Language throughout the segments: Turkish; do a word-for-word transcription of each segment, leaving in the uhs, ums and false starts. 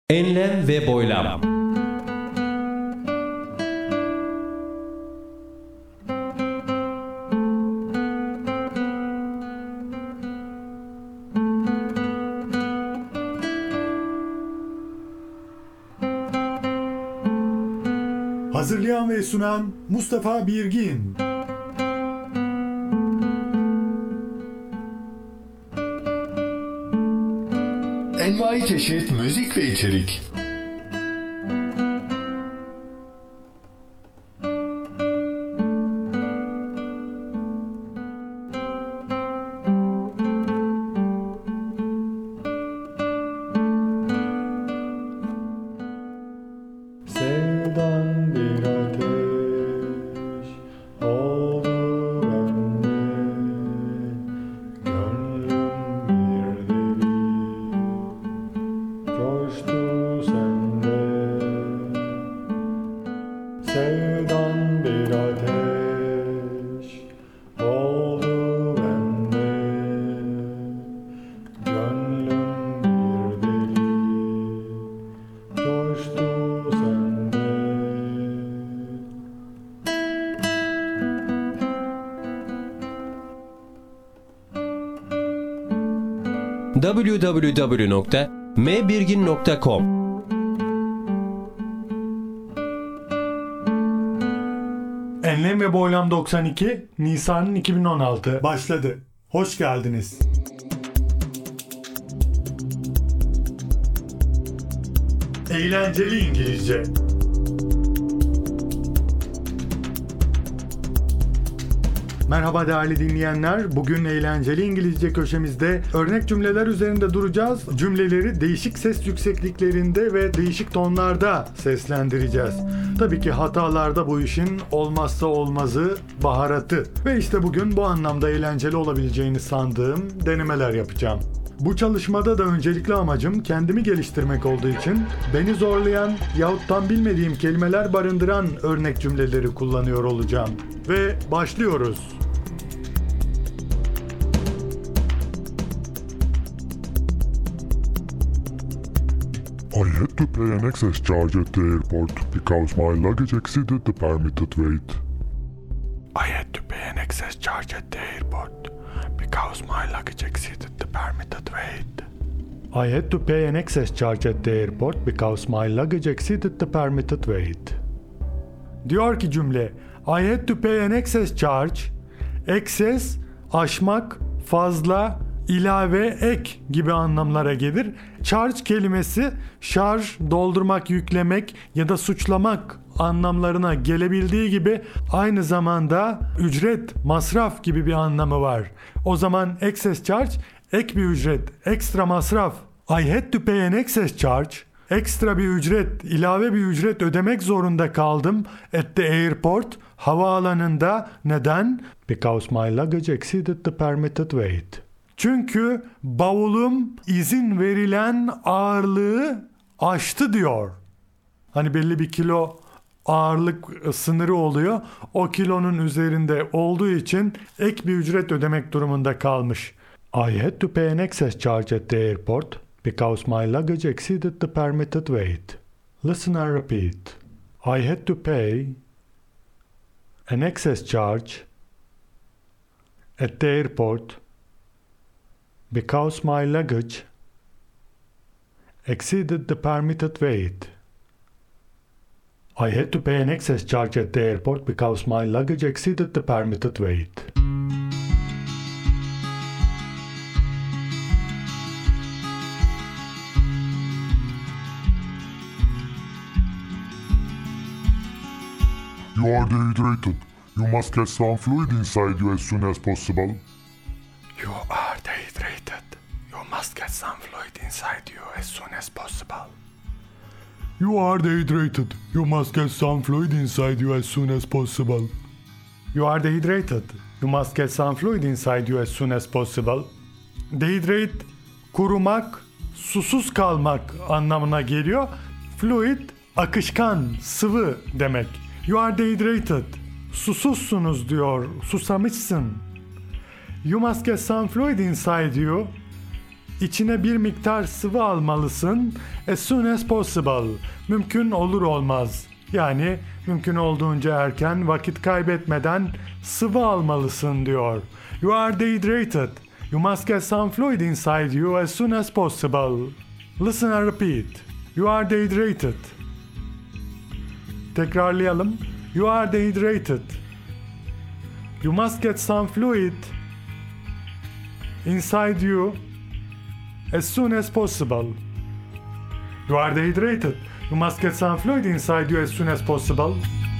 Enlem ve boylam. Hazırlayan ve sunan Mustafa Birgin. Envai çeşit müzik ve içerik. Sevdan bir ateş oldu bende, gönlüm bir deli coştu sende. Sevdan bir ateş oldu bende, gönlüm bir deli coştu sende. double-u double-u double-u nokta m birgin nokta com Enlem ve Boylam doksan iki, Nisan iki bin on altı başladı. Hoş geldiniz. Eğlenceli İngilizce. Merhaba değerli dinleyenler. Bugün eğlenceli İngilizce köşemizde örnek cümleler üzerinde duracağız. Cümleleri değişik ses yüksekliklerinde ve değişik tonlarda seslendireceğiz. Tabii ki hatalarda bu işin olmazsa olmazı, baharatı. Ve işte bugün bu anlamda eğlenceli olabileceğini sandığım denemeler yapacağım. Bu çalışmada da öncelikli amacım kendimi geliştirmek olduğu için beni zorlayan yahut tam bilmediğim kelimeler barındıran örnek cümleleri kullanıyor olacağım. Ve başlıyoruz. I had to pay an excess charge at the airport because my luggage exceeded the permitted weight. I had to pay an excess charge at the airport because my luggage exceeded the permitted weight. I had to pay an excess charge at the airport because my luggage exceeded the permitted weight. Diyor ki cümle, I had to pay an excess charge, excess, aşmak, fazla, ilave, ek gibi anlamlara gelir. Charge kelimesi şarj, doldurmak, yüklemek ya da suçlamak anlamlarına gelebildiği gibi aynı zamanda ücret, masraf gibi bir anlamı var. O zaman excess charge, ek bir ücret, ekstra masraf. I had to pay an excess charge, ekstra bir ücret, ilave bir ücret ödemek zorunda kaldım at the airport, havaalanında. Neden? Because my luggage exceeded the permitted weight. Çünkü bavulum izin verilen ağırlığı aştı diyor. Hani belli bir kilo ağırlık sınırı oluyor. O kilonun üzerinde olduğu için ek bir ücret ödemek durumunda kalmış. I had to pay an excess charge at the airport because my luggage exceeded the permitted weight. Listen and repeat. I had to pay an excess charge at the airport because my luggage exceeded the permitted weight. I had to pay an excess charge at the airport because my luggage exceeded the permitted weight. You are dehydrated. You must get some fluid inside you as soon as possible. You are dehydrated. You must get some fluid inside you as soon as possible. You are dehydrated. You must get some fluid inside you as soon as possible. You are dehydrated. You must get some fluid inside you as soon as possible. Dehydrate, kurumak, susuz kalmak anlamına geliyor. Fluid, akışkan, sıvı demek. You are dehydrated. Susuzsunuz diyor, susamışsın. You must get some fluid inside you İçine bir miktar sıvı almalısın. As soon as possible. Mümkün olur olmaz. Yani mümkün olduğunca erken, vakit kaybetmeden sıvı almalısın diyor. You are dehydrated. You must get some fluid inside you as soon as possible. Listen and repeat. You are dehydrated. Tekrarlayalım. You are dehydrated. You must get some fluid inside you as soon as possible. You are dehydrated. You must get some fluid inside you as soon as possible.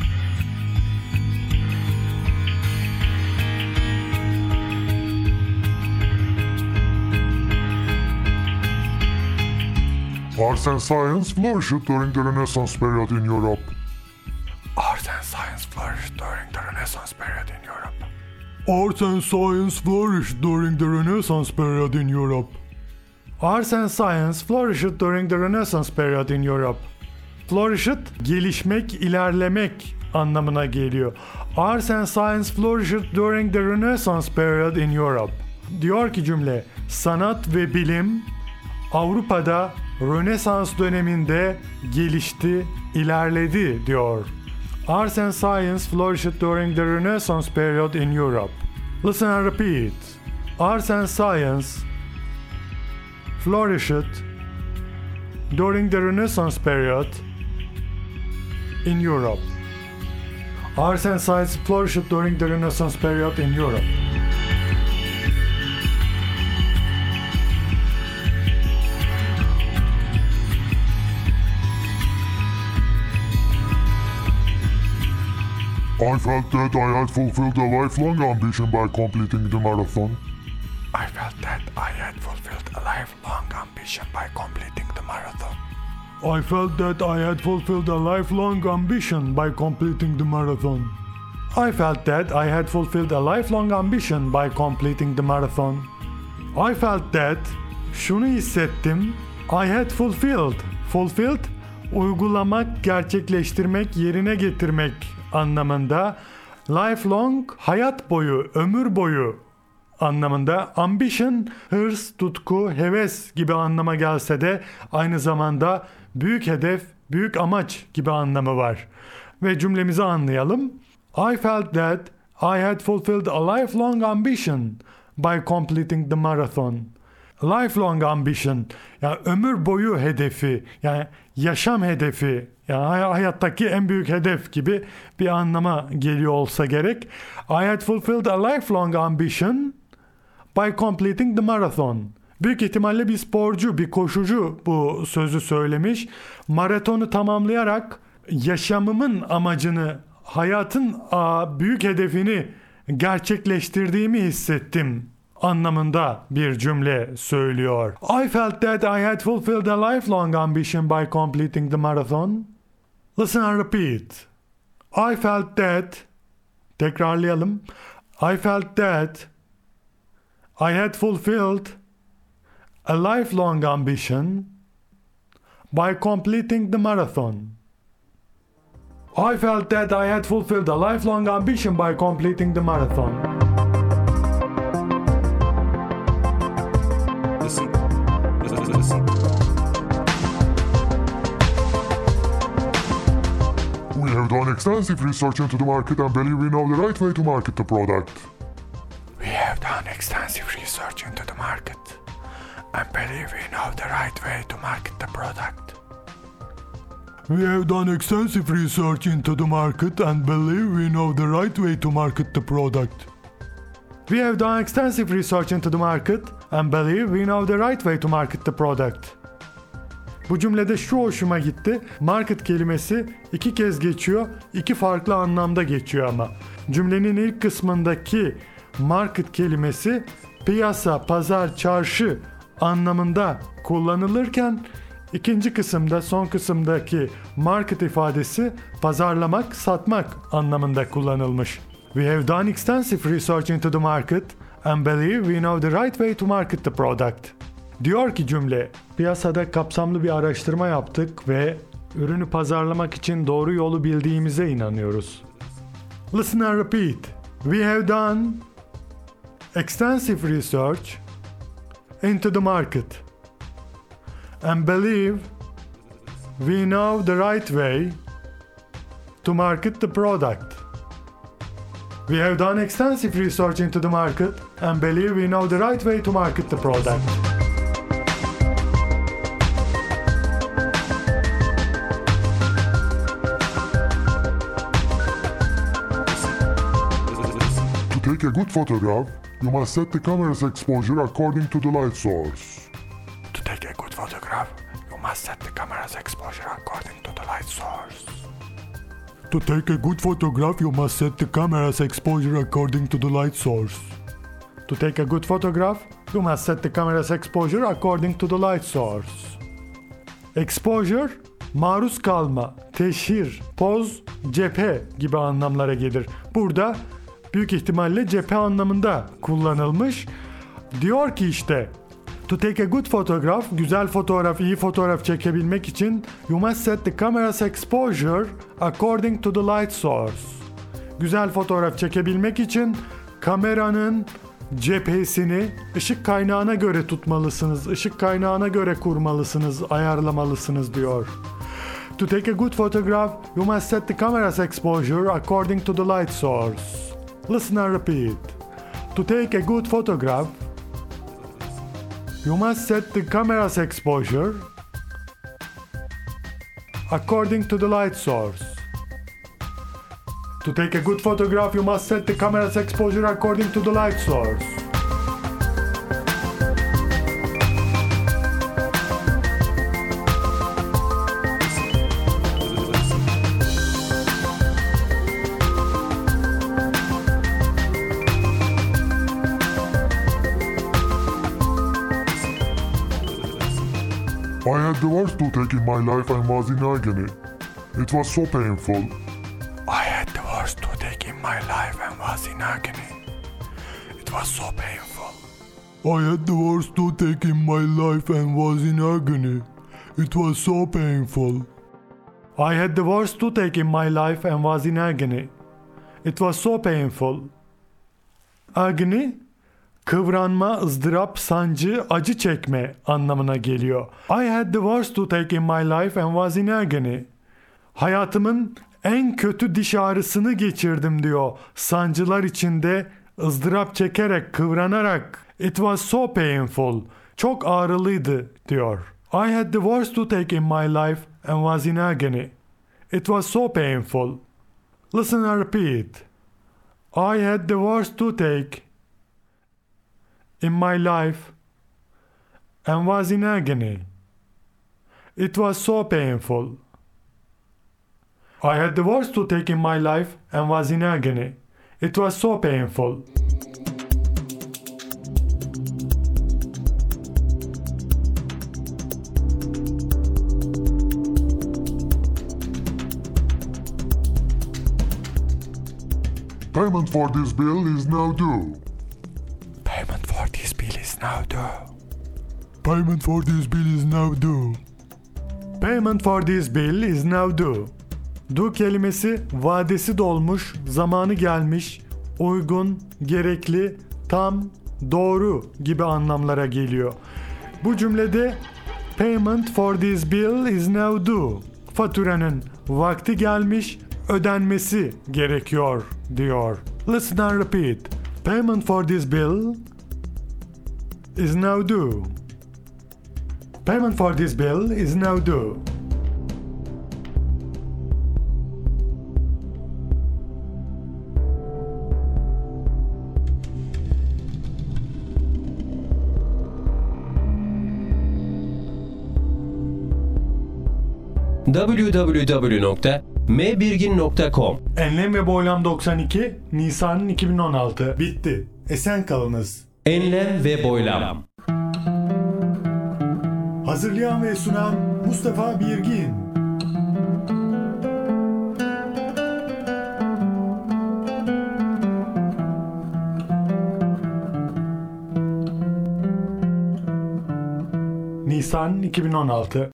Arts and science flourished during the Renaissance period in Europe. Art and science flourished during the Renaissance period in Europe. Arts and science flourished during the Renaissance period in Europe. Arts and science flourished during the Renaissance period in Europe. Flourished, gelişmek, ilerlemek anlamına geliyor. Arts and science flourished during the Renaissance period in Europe. Diyor ki cümle, sanat ve bilim Avrupa'da Rönesans döneminde gelişti, ilerledi diyor. Arts and science flourished during the Renaissance period in Europe. Listen and repeat. Arts and science flourished during the Renaissance period in Europe. Arts and science flourished during the Renaissance period in Europe. I felt that I had fulfilled a lifelong ambition by completing the marathon. I felt that I had fulfilled a lifelong ambition by completing the marathon. I felt that I had fulfilled a lifelong ambition by completing the marathon. I felt that I had fulfilled a lifelong ambition by completing the marathon. I felt that, şunu hissettim, I had fulfilled. Fulfilled, uygulamak, gerçekleştirmek, yerine getirmek anlamında. Lifelong, hayat boyu, ömür boyu anlamında. Ambition, hırs, tutku, heves gibi anlama gelse de aynı zamanda büyük hedef, büyük amaç gibi anlamı var. Ve cümlemizi anlayalım. I felt that I had fulfilled a lifelong ambition by completing the marathon. Lifelong ambition, yani ömür boyu hedefi, yani yaşam hedefi, yani hayattaki en büyük hedef gibi bir anlama geliyor olsa gerek. I had fulfilled a lifelong ambition by completing the marathon. Büyük ihtimalle bir sporcu, bir koşucu bu sözü söylemiş. Maratonu tamamlayarak yaşamımın amacını, hayatın büyük hedefini gerçekleştirdiğimi hissettim anlamında bir cümle söylüyor. I felt that I had fulfilled a lifelong ambition by completing the marathon. Listen and repeat. I felt that, tekrarlayalım. I felt that I had fulfilled a lifelong ambition by completing the marathon. I felt that I had fulfilled a lifelong ambition by completing the marathon. Listen. Listen. Listen. We have done extensive research into the market and believe we know the right way to market the product. We have done extensive research into the market and believe we know the right way to market the product. We have done extensive research into the market and believe we know the right way to market the product. We have done extensive research into the market and believe we know the right way to market the product. Bu cümlede şu hoşuma gitti. Market kelimesi iki kez geçiyor, iki farklı anlamda geçiyor ama. Cümlenin ilk kısmındaki market kelimesi piyasa, pazar, çarşı anlamında kullanılırken ikinci kısımda, son kısımdaki market ifadesi pazarlamak, satmak anlamında kullanılmış. We have done extensive research into the market and believe we know the right way to market the product. Diyor ki cümle, piyasada kapsamlı bir araştırma yaptık ve ürünü pazarlamak için doğru yolu bildiğimize inanıyoruz. Listen and repeat. We have done extensive research into the market and believe we know the right way to market the product. We have done extensive research into the market and believe we know the right way to market the product. To take a good photograph, you must set the camera's exposure according to the light source. To take a good photograph, you must set the camera's exposure according to the light source. To take a good photograph, you must set the camera's exposure according to the light source. To take a good photograph, you must set the camera's exposure according to the light source. Exposure, maruz kalma, teşhir, poz, cephe gibi anlamlara gelir. Burada büyük ihtimalle cephe anlamında kullanılmış. Diyor ki işte, to take a good photograph, güzel fotoğraf, iyi fotoğraf çekebilmek için you must set the camera's exposure according to the light source. Güzel fotoğraf çekebilmek için kameranın cephesini ışık kaynağına göre tutmalısınız, ışık kaynağına göre kurmalısınız, ayarlamalısınız diyor. To take a good photograph, you must set the camera's exposure according to the light source. Listen and repeat. To take a good photograph, you must set the camera's exposure according to the light source. To take a good photograph, you must set the camera's exposure according to the light source. I had the worst toothache in my life and was in agony. It was so painful. I had the worst toothache in my life and was in agony. It was so painful. I had the worst toothache in my life and was in agony. It was so painful. I had the worst toothache in my life and was in agony. It was so painful. Agony, kıvranma, ızdırap, sancı, acı çekme anlamına geliyor. I had the worst toothache in my life and was in agony. Hayatımın en kötü diş ağrısını geçirdim diyor. Sancılar içinde ızdırap çekerek, kıvranarak. It was so painful. Çok ağrılıydı diyor. I had the worst toothache in my life and was in agony. It was so painful. Listen and repeat. I had the worst toothache in my life and was in agony. It was so painful. I had the worst toothache in my life and was in agony. It was so painful. Payment for this bill is now due. Payment for this bill is now due. Payment for this bill is now due. Payment for this bill is now due. Due kelimesi vadesi dolmuş, zamanı gelmiş, uygun, gerekli, tam, doğru gibi anlamlara geliyor. Bu cümlede payment for this bill is now due. Faturanın vakti gelmiş, ödenmesi gerekiyor diyor. Listen and repeat. Payment for this bill is now due. Payment for this bill is now due. double-u double-u double-u nokta m birgin nokta com Enlem ve Boylam doksan iki, Nisan iki bin on altı. Bitti. Esen kalınız. Enlem ve boylam. Hazırlayan ve sunan Mustafa Birgin. Nisan iki bin on altı.